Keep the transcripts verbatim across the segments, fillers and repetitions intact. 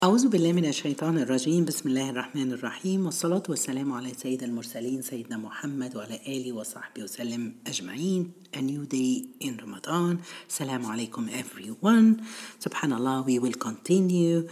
أعوذ بالله من الشيطان الرجيم. بسم الله الرحمن الرحيم، والصلاة والسلام على سيد المرسلين سيدنا محمد وعلى آله وصحبه وسلم أجمعين. A new day in Ramadan. Assalamu alaikum everyone. Subhanallah, we will continue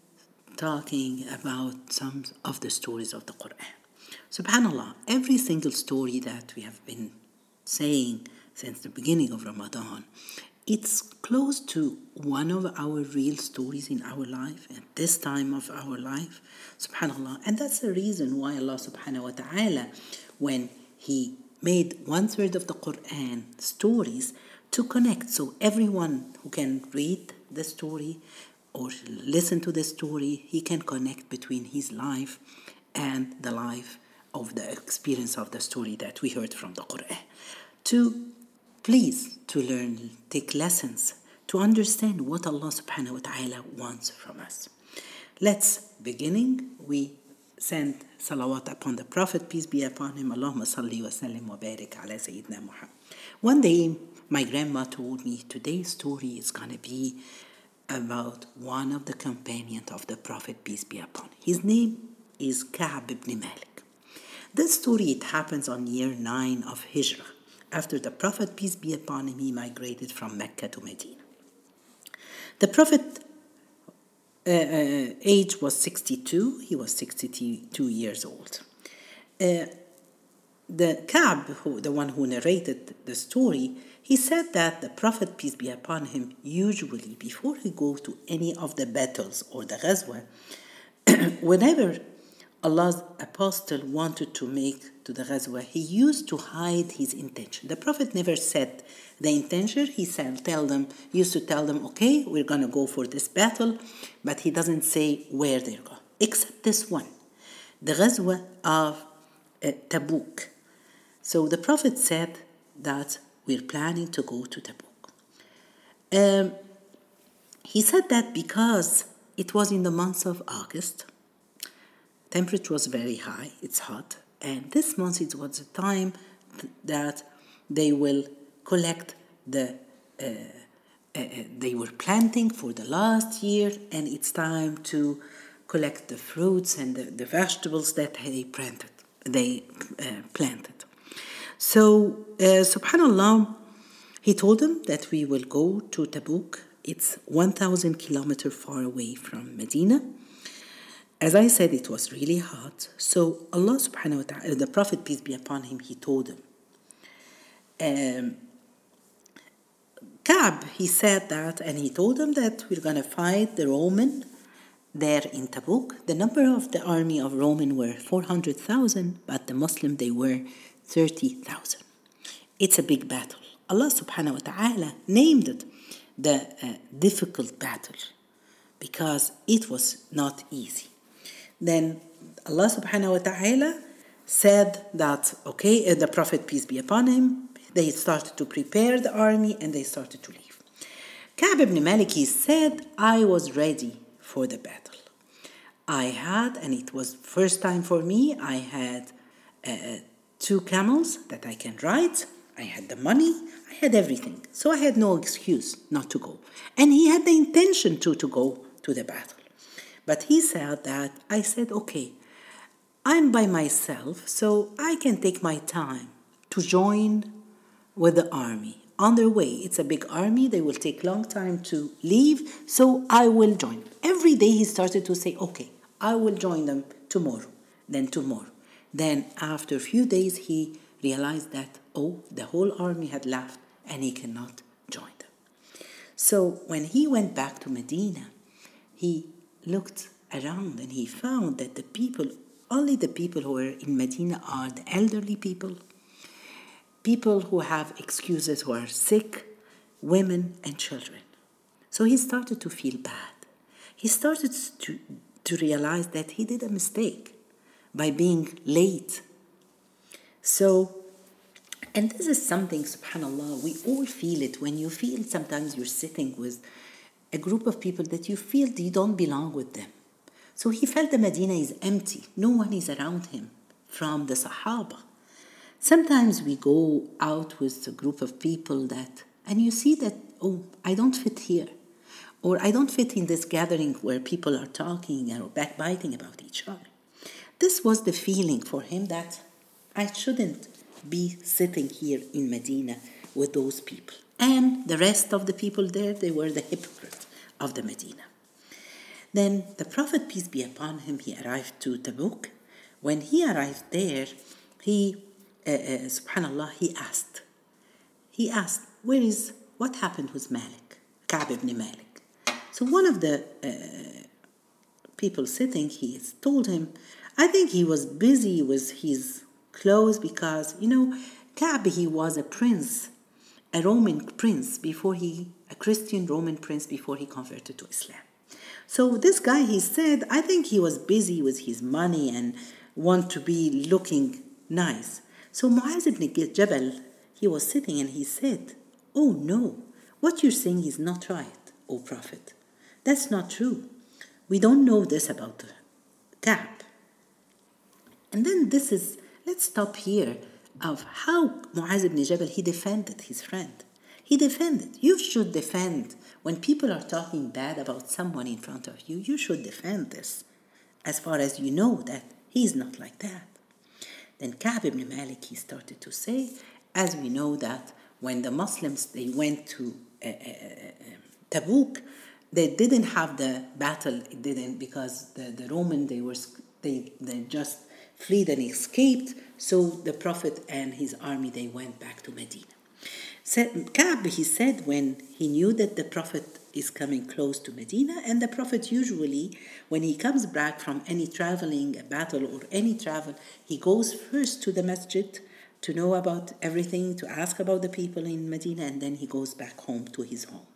talking about some of the stories of the Quran. Subhanallah, every single story that we have been saying since the beginning of Ramadan, it's close to one of our real stories in our life at this time of our life. Subhanallah. And that's the reason why Allah subhanahu wa ta'ala, when He made one third of the Quran stories to connect, so everyone who can read the story or listen to the story, he can connect between his life and the life of the experience of the story that we heard from the Quran. To please, to learn, take lessons, to understand what Allah subhanahu wa ta'ala wants from us. Let's beginning. We send salawat upon the Prophet, peace be upon him. Allahumma salli wa sallim wa barik ala Sayyidina Muhammad. One day, my grandma told me today's story is going to be about one of the companions of the Prophet, peace be upon him. His name is Ka'b ibn Malik. This story, it happens on year nine of Hijrah. After the Prophet, peace be upon him, he migrated from Mecca to Medina. The Prophet uh, uh, age was sixty-two. He was sixty-two years old. Uh, the Ka'b, who, the one who narrated the story, he said that the Prophet, peace be upon him, usually before he go to any of the battles or the ghazwa, whenever Allah's apostle wanted to make to the ghazwa, he used to hide his intention. The Prophet never said the intention. He said, tell them, used to tell them, okay, we're going to go for this battle, but he doesn't say where they're going, except this one, the ghazwa of uh, Tabuk. So the Prophet said that we're planning to go to Tabuk. Um, he said that because it was in the month of August, temperature was very high, it's hot, and this month it was a time th- that they will collect the, uh, uh, they were planting for the last year, and it's time to collect the fruits and the, the vegetables that they planted. They uh, planted. So, uh, subhanallah, he told them that we will go to Tabuk. It's one thousand kilometers far away from Medina. As I said, it was really hot. So Allah subhanahu wa ta'ala, the Prophet, peace be upon him, he told him. Um, Ka'b, he said that, and he told them that we're going to fight the Roman there in Tabuk. The number of the army of Roman were four hundred thousand, but the Muslim, they were thirty thousand. It's a big battle. Allah subhanahu wa ta'ala named it the uh, difficult battle because it was not easy. Then Allah subhanahu wa ta'ala said that, okay, uh, the Prophet, peace be upon him, they started to prepare the army and they started to leave. Ka'b ibn Malik, he said, I was ready for the battle. I had, and it was first time for me, I had uh, two camels that I can ride. I had the money. I had everything. So I had no excuse not to go. And he had the intention to, to go to the battle. But he said that, I said, okay, I'm by myself, so I can take my time to join with the army. On their way, it's a big army. They will take long time to leave, so I will join. Every day he started to say, okay, I will join them tomorrow, then tomorrow. Then after a few days, he realized that, oh, the whole army had left and he cannot join them. So when he went back to Medina, he looked around and he found that the people, only the people who are in Medina are the elderly people, people who have excuses, who are sick, women and children. So he started to feel bad. He started to, to realize that he did a mistake by being late. So, and this is something, subhanAllah, we all feel it when you feel sometimes you're sitting with a group of people that you feel you don't belong with them. So he felt the Medina is empty. No one is around him from the Sahaba. Sometimes we go out with a group of people that, and you see that, oh, I don't fit here. Or I don't fit in this gathering where people are talking or backbiting about each other. This was the feeling for him that I shouldn't be sitting here in Medina with those people. And the rest of the people there, they were the hypocrites of the Medina. Then the Prophet, peace be upon him, he arrived to Tabuk. When he arrived there, he, uh, uh, subhanallah, he asked. He asked, where is, what happened with Malik, Ka'b ibn Malik? So one of the uh, people sitting, he told him, I think he was busy with his clothes because, you know, Ka'b, he was a prince, a Roman prince before he, a Christian Roman prince before he converted to Islam. So this guy, he said, I think he was busy with his money and want to be looking nice. So Mu'az ibn Jabal, he was sitting and he said, oh no, what you're saying is not right, O Prophet. That's not true. We don't know this about Ka'b. And then this is, let's stop here of how Mu'az ibn Jabal, he defended his friend. He defended. You should defend. When people are talking bad about someone in front of you, you should defend this, as far as you know that he's not like that. Then Ka'b ibn Malik, he started to say, as we know that when the Muslims, they went to uh, uh, Tabuk, they didn't have the battle, it didn't, because the, the Roman, they were, they, they just fled and escaped. So the Prophet and his army, they went back to Medina. So Ka'b, he said, when he knew that the Prophet is coming close to Medina, and the Prophet usually, when he comes back from any traveling, a battle or any travel, he goes first to the masjid to know about everything, to ask about the people in Medina, and then he goes back home to his home.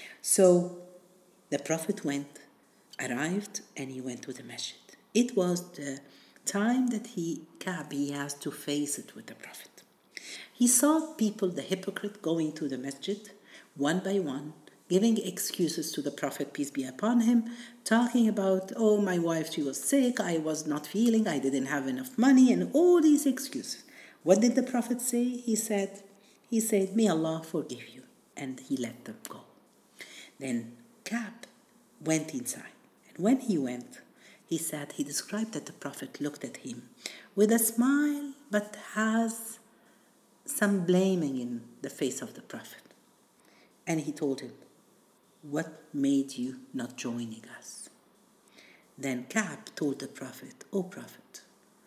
So the Prophet went, arrived, and he went to the masjid. It was the time that he, Ka'b, he has to face it with the Prophet. He saw people, the hypocrite, going to the masjid, one by one, giving excuses to the Prophet, peace be upon him, talking about, oh, my wife, she was sick, I was not feeling, I didn't have enough money, and all these excuses. What did the Prophet say? He said, he said, may Allah forgive you. And he let them go. Then Ka'b went inside. And when he went, he said, he described that the Prophet looked at him with a smile, but has some blaming in the face of the Prophet. And he told him, what made you not joining us? Then Ka'b told the Prophet, oh Prophet,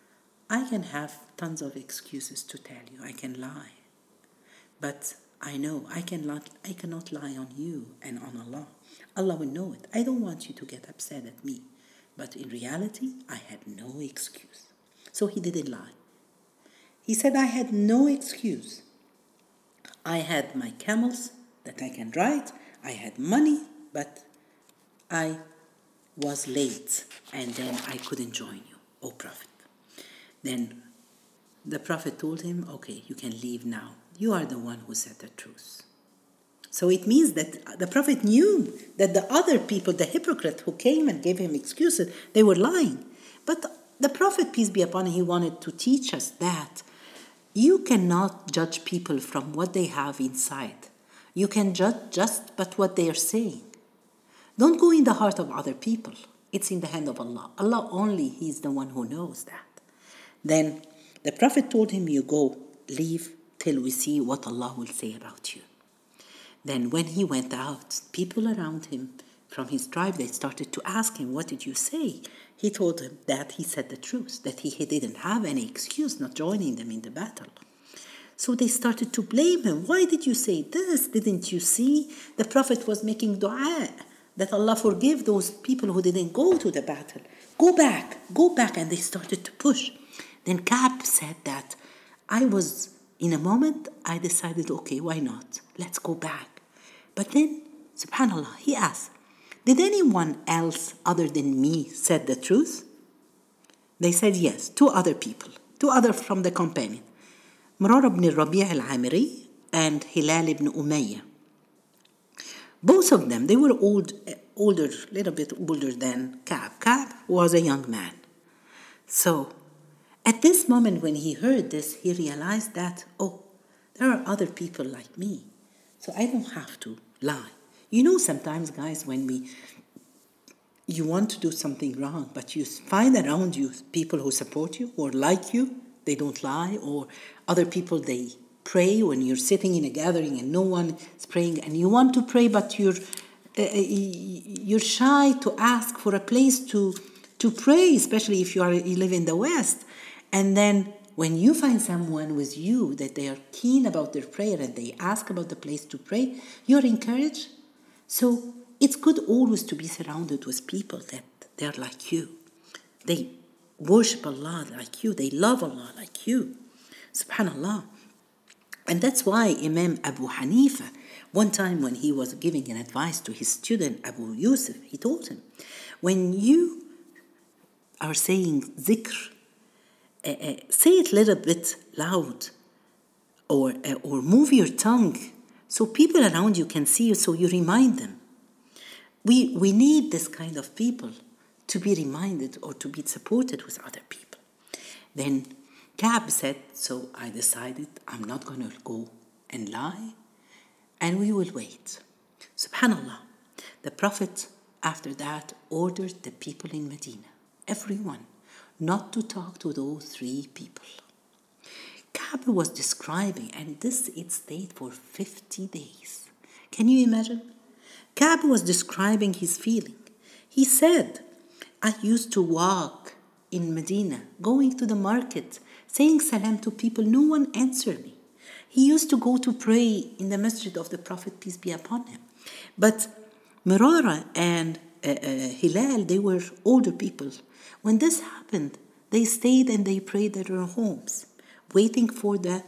I can have tons of excuses to tell you, I can lie. But I know I cannot, I cannot lie on you and on Allah. Allah will know it. I don't want you to get upset at me. But in reality, I had no excuse. So he didn't lie. He said, I had no excuse. I had my camels that I can ride. I had money, but I was late. And then I couldn't join you, O Prophet. Then the Prophet told him, okay, you can leave now. You are the one who said the truth. So it means that the Prophet knew that the other people, the hypocrite who came and gave him excuses, they were lying. But the Prophet, peace be upon him, he wanted to teach us that you cannot judge people from what they have inside. You can judge just but what they are saying. Don't go in the heart of other people. It's in the hand of Allah. Allah only, He's the one who knows that. Then the Prophet told him, you go, leave till we see what Allah will say about you. Then when he went out, people around him from his tribe, they started to ask him, what did you say? He told them that he said the truth, that he, he didn't have any excuse not joining them in the battle. So they started to blame him. Why did you say this? Didn't you see? The Prophet was making dua that Allah forgive those people who didn't go to the battle. Go back, go back. And they started to push. Then Ka'b said that I was, in a moment, I decided, okay, why not? Let's go back. But then, subhanAllah, he asked, did anyone else other than me said the truth? They said yes, two other people, two other from the companion. Murara ibn Rabi' al-Amiri and Hilal ibn Umayyah. Both of them, they were old, older, a little bit older than Ka'b. Ka'b was a young man. So, at this moment when he heard this, he realized that, oh, there are other people like me. So I don't have to lie. You know, sometimes, guys, when we you want to do something wrong, but you find around you people who support you or like you, they don't lie, or other people, they pray when you're sitting in a gathering and no one is praying, and you want to pray, but you're uh, you're shy to ask for a place to to pray, especially if you are you live in the West. And then when you find someone with you that they are keen about their prayer and they ask about the place to pray, you're encouraged. So it's good always to be surrounded with people that they're like you. They worship Allah like you. They love Allah like you. Subhanallah. And that's why Imam Abu Hanifa, one time when he was giving an advice to his student Abu Yusuf, he told him, when you are saying zikr, uh, uh, say it a little bit loud, or, uh, or move your tongue so people around you can see you, so you remind them. We, we need this kind of people to be reminded or to be supported with other people. Then Ka'b said, so I decided I'm not going to go and lie, and we will wait. Subhanallah. The Prophet, after that, ordered the people in Medina, everyone, not to talk to those three people. Ka'b was describing, and this it stayed for fifty days. Can you imagine? Ka'b was describing his feeling. He said, I used to walk in Medina, going to the market, saying salam to people. No one answered me. He used to go to pray in the masjid of the Prophet, peace be upon him. But Mirara and uh, uh, Hilal, they were older people. When this happened, they stayed and they prayed at their homes, waiting for the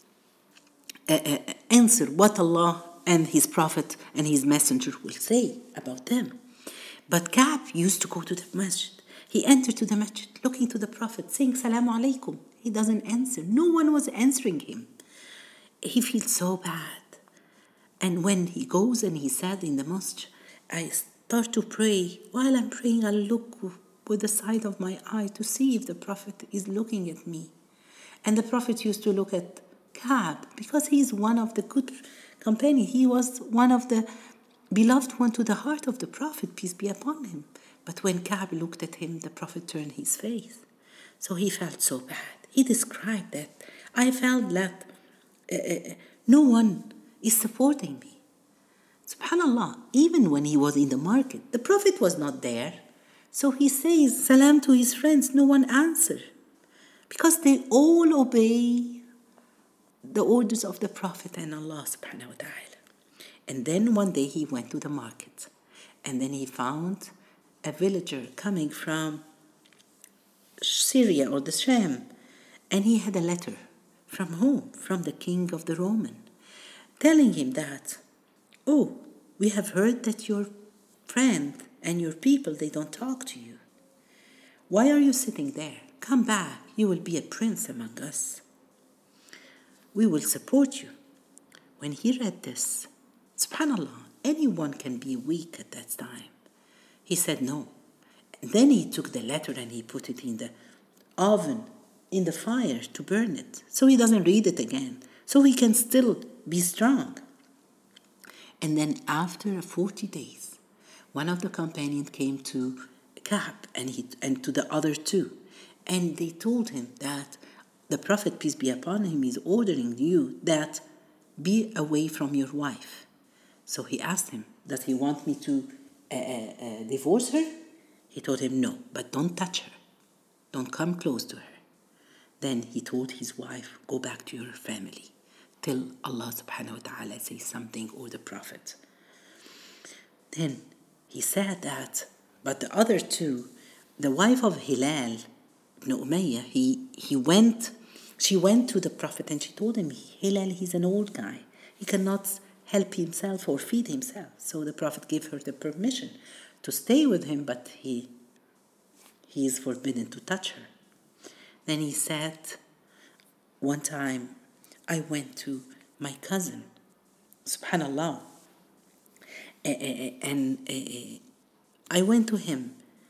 uh, uh, answer, what Allah and His Prophet and His Messenger will say about them. But Ka'b used to go to the masjid. He entered to the masjid, looking to the Prophet, saying, Salamu alaikum. He doesn't answer. No one was answering him. He feels so bad. And when he goes and he sat in the mosque, I start to pray. While I'm praying, I look with the side of my eye to see if the Prophet is looking at me. And the Prophet used to look at Ka'b because he is one of the good companions. He was one of the beloved one to the heart of the Prophet, peace be upon him. But when Ka'b looked at him, the Prophet turned his face. So he felt so bad. He described that. I felt that uh, uh, no one is supporting me. Subhanallah, even when he was in the market, the Prophet was not there. So he says salam to his friends, no one answered. Because they all obey the orders of the Prophet and Allah subhanahu wa ta'ala. And then one day he went to the market. And then he found a villager coming from Syria or the Sham. And he had a letter. From whom? From the king of the Roman. Telling him that, oh, we have heard that your friend and your people, they don't talk to you. Why are you sitting there? Come back. You will be a prince among us. We will support you. When he read this, subhanallah, anyone can be weak at that time. He said no. And then he took the letter and he put it in the oven, in the fire to burn it. So he doesn't read it again. So he can still be strong. And then after forty days, one of the companions came to Ka'b and, he, and to the other two. And they told him that the Prophet, peace be upon him, is ordering you that be away from your wife. So he asked him, does he want me to uh, uh, divorce her? He told him, no, but don't touch her. Don't come close to her. Then he told his wife, go back to your family till Allah subhanahu wa ta'ala says something or the Prophet. Then he said that, but the other two, the wife of Hilal ibn Umayyah, he, he went, she went to the Prophet and she told him, Hilal, he's an old guy. He cannot help himself or feed himself. So the Prophet gave her the permission to stay with him, but he, he is forbidden to touch her. Then he said, one time I went to my cousin, subhanallah, and I went to him,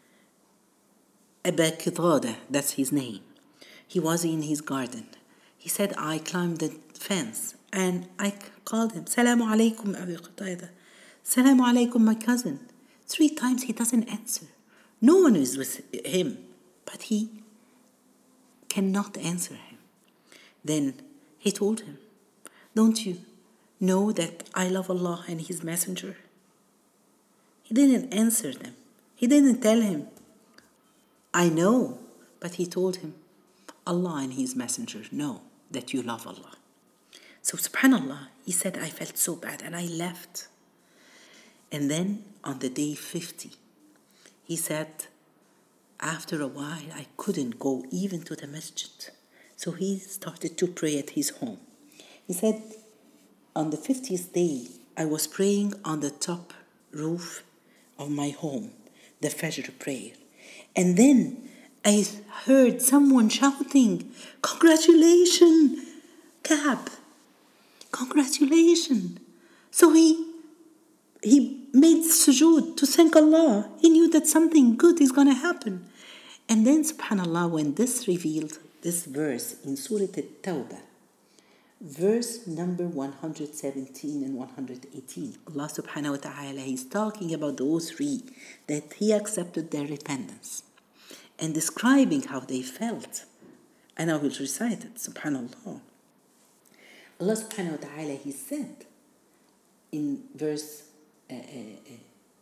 Aba Qitada, that's his name. He was in his garden. He said, I climbed the fence and I called him, Salamu alaikum, Abi Qatada. Salamu alaikum, my cousin. Three times he doesn't answer. No one is with him, but he cannot answer him. Then he told him, don't you know that I love Allah and His Messenger? He didn't answer them. He didn't tell him, I know, but he told him, Allah and His Messenger know that you love Allah. So subhanallah, he said, I felt so bad and I left. And then on the day fifty, he said, after a while, I couldn't go even to the masjid. So he started to pray at his home. He said, on the fiftieth day, I was praying on the top roof of my home, the Fajr prayer. And then I heard someone shouting, congratulations, Ka'b, congratulations. So he he made sujood to thank Allah. He knew that something good is going to happen. And then subhanallah, when this revealed, this verse in Surah At-Tawbah, verse number one hundred seventeen and one hundred eighteen, Allah subhanahu wa ta'ala is talking about those three, that He accepted their repentance and describing how they felt. And I will recite it, subhanallah. Allah subhanahu wa ta'ala, He said in verse uh, uh, uh,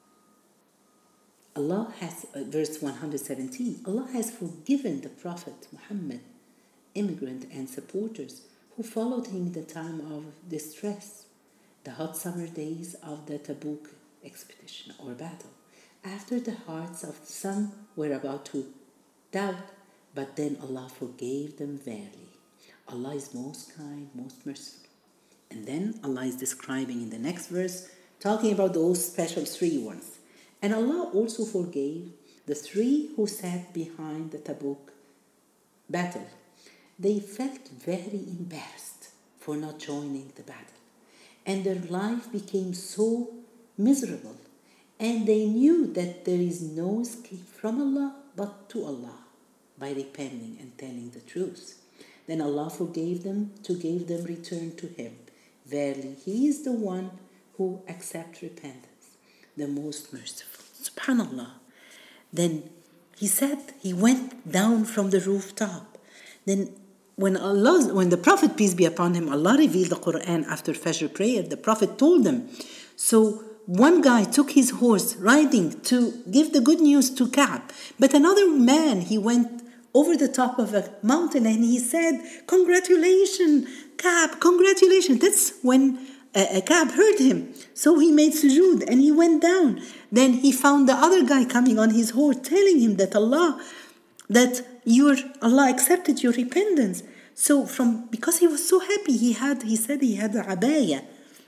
Allah has, uh, verse one hundred seventeen, Allah has forgiven the Prophet Muhammad, immigrant and supporters who followed him in the time of distress, the hot summer days of the Tabuk expedition or battle, after the hearts of some were about to doubt, but then Allah forgave them verily. Allah is most kind, most merciful. And then Allah is describing in the next verse, talking about those special three ones. And Allah also forgave the three who sat behind the Tabuk battle. They felt very embarrassed for not joining the battle. And their life became so miserable. And they knew that there is no escape from Allah but to Allah by repenting and telling the truth. Then Allah forgave them to give them return to Him. Verily, He is the one who accepts repentance, the most merciful. Subhanallah. Then He said He went down from the rooftop. Then when Allah, when the Prophet, peace be upon him, Allah revealed the Quran after Fajr prayer, the Prophet told them. So one guy took his horse riding to give the good news to Ka'b. But another man, he went over the top of a mountain and he said, congratulations, Ka'b, congratulations. That's when uh, Ka'b heard him. So he made sujood and he went down. Then he found the other guy coming on his horse telling him that Allah, that your Allah accepted your repentance. So from, because he was so happy, he had, he said he had a abaya.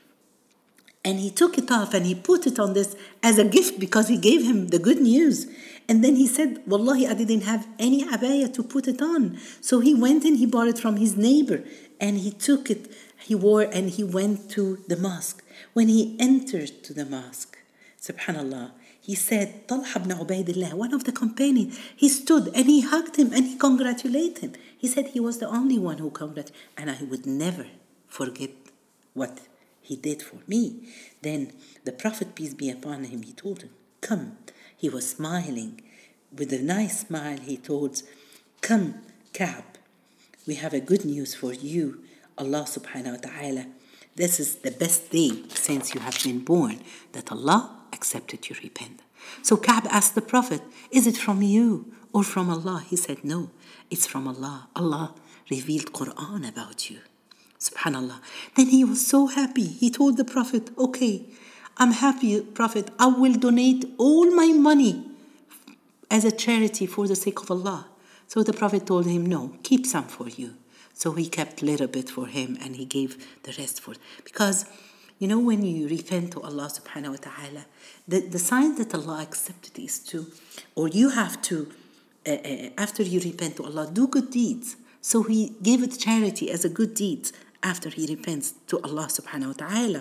And he took it off and he put it on this as a gift because he gave him the good news. And then he said, Wallahi, I didn't have any abaya to put it on. So he went and he bought it from his neighbor and he took it, he wore and he went to the mosque. When he entered to the mosque, subhanallah, he said, Talha ibn Ubaidillah, one of the companions, he stood and he hugged him and he congratulated him. He said he was the only one who congratulated, and I would never forget what he did for me. Then the Prophet, peace be upon him, he told him, come. He was smiling. With a nice smile, he told, come, Ka'b, we have a good news for you. Allah subhanahu wa ta'ala, this is the best day since you have been born, that Allah accepted your repentance. So Ka'b asked the Prophet, is it from you or from Allah? He said, no, it's from Allah. Allah revealed Quran about you. Subhanallah. Then he was so happy. He told the Prophet, okay, I'm happy, Prophet. I will donate all my money as a charity for the sake of Allah. So the Prophet told him, no, keep some for you. So he kept a little bit for him and he gave the rest for, because you know, when you repent to Allah subhanahu wa ta'ala, the, the sign that Allah accepted is to, or you have to, uh, uh, after you repent to Allah, do good deeds. So he gave it charity as a good deed after he repents to Allah subhanahu wa ta'ala.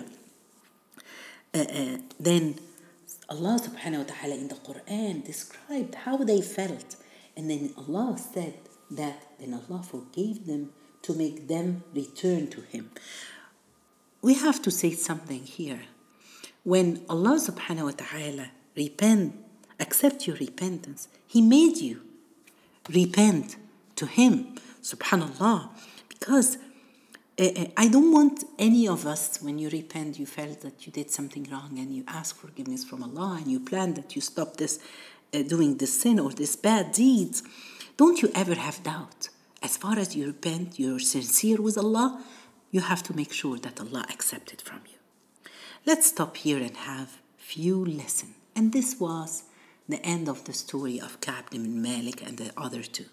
Uh, uh, then Allah subhanahu wa ta'ala in the Quran described how they felt. And then Allah said that then Allah forgave them to make them return to Him. We have to say something here. when Allah subhanahu wa ta'ala repent, accept your repentance, He made you repent to Him, subhanallah. Because uh, I don't want any of us, when you repent, you felt that you did something wrong and you ask forgiveness from Allah and you plan that you stop this, uh, doing this sin or this bad deeds. Don't you ever have doubt. As far as you repent, you're sincere with Allah, you have to make sure that Allah accepts it from you. Let's stop here and have few lessons. And this was the end of the story of Ka'b ibn Malik and the other two.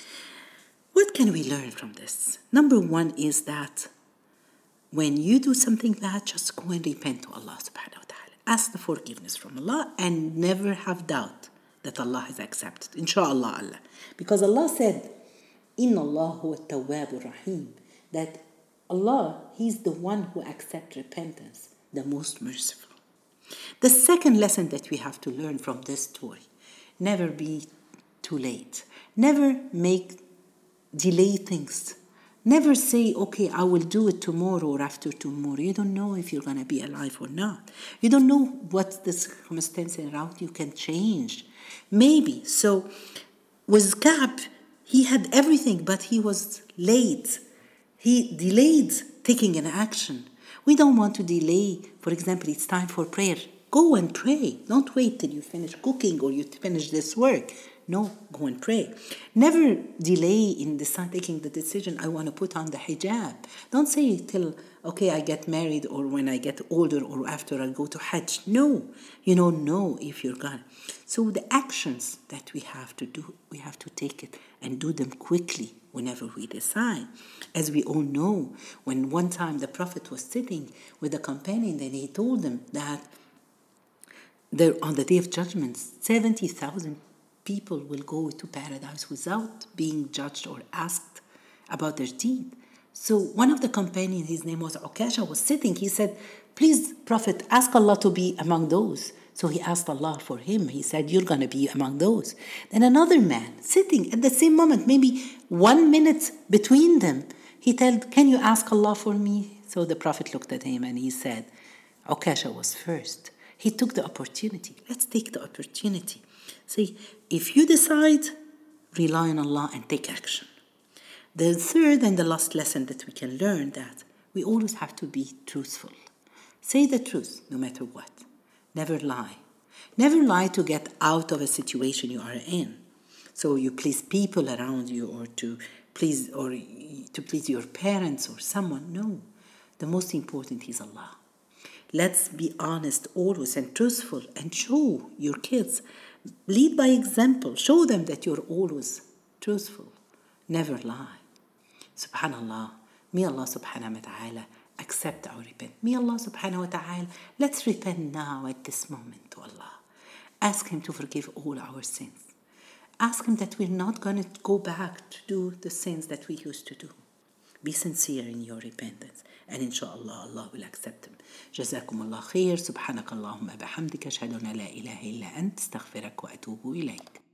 What can we learn from this? Number one is that when you do something bad, just go and repent to Allah subhanahu wa ta'ala. Ask the forgiveness from Allah and never have doubt that Allah has accepted. Insha'Allah Allah. Because Allah said, Inna Allah huwa at-tawwab ar-rahim. That Allah, He's the one who accepts repentance, the most merciful. The second lesson that we have to learn from this story, never be too late. Never make delay things. Never say, okay, I will do it tomorrow or after tomorrow. You don't know if you're going to be alive or not. You don't know what the circumstances around you can change. Maybe. So with Ka'b, he had everything, but he was late. He delayed taking an action. We don't want to delay. For example, it's time for prayer. Go and pray. Don't wait till you finish cooking or you finish this work. No, go and pray. Never delay in decide, taking the decision, I want to put on the hijab. Don't say till, okay, I get married or when I get older or after I go to Hajj. No, you don't know if you're gonna. So the actions that we have to do, we have to take it and do them quickly whenever we decide. As we all know, when one time the Prophet was sitting with a companion and he told them that there, on the Day of Judgment, seventy thousand people will go to paradise without being judged or asked about their deed. So one of the companions, his name was Ukasha, was sitting. He said, please, Prophet, ask Allah to be among those. So he asked Allah for him. He said, you're going to be among those. Then another man sitting at the same moment, maybe one minute between them, he told, can you ask Allah for me? So the Prophet looked at him and he said, Ukasha was first. He took the opportunity. Let's take the opportunity. See, if you decide, rely on Allah and take action. The third and the last lesson that we can learn that we always have to be truthful. Say the truth no matter what. Never lie. Never lie to get out of a situation you are in. So you please people around you or to please or to please your parents or someone. No. The most important is Allah. Let's be honest always and truthful and show your kids. Lead by example. Show them that you're always truthful. Never lie. Subhanallah. May Allah subhanahu wa ta'ala accept our repent. May Allah subhanahu wa ta'ala, let's repent now at this moment to Allah. Ask Him to forgive all our sins. Ask Him that we're not going to go back to do the sins that we used to do. Be sincere in your repentance. And inshallah, Allah will accept them. جزاكم الله خير. سبحانك اللهم بحمدك أشهد أن لا إله إلا أنت استغفرك وأتوب إليك.